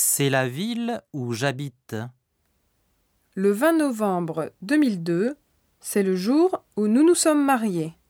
C'est la ville où j'habite. Le 20 novembre 2002, c'est le jour où nous nous sommes mariés.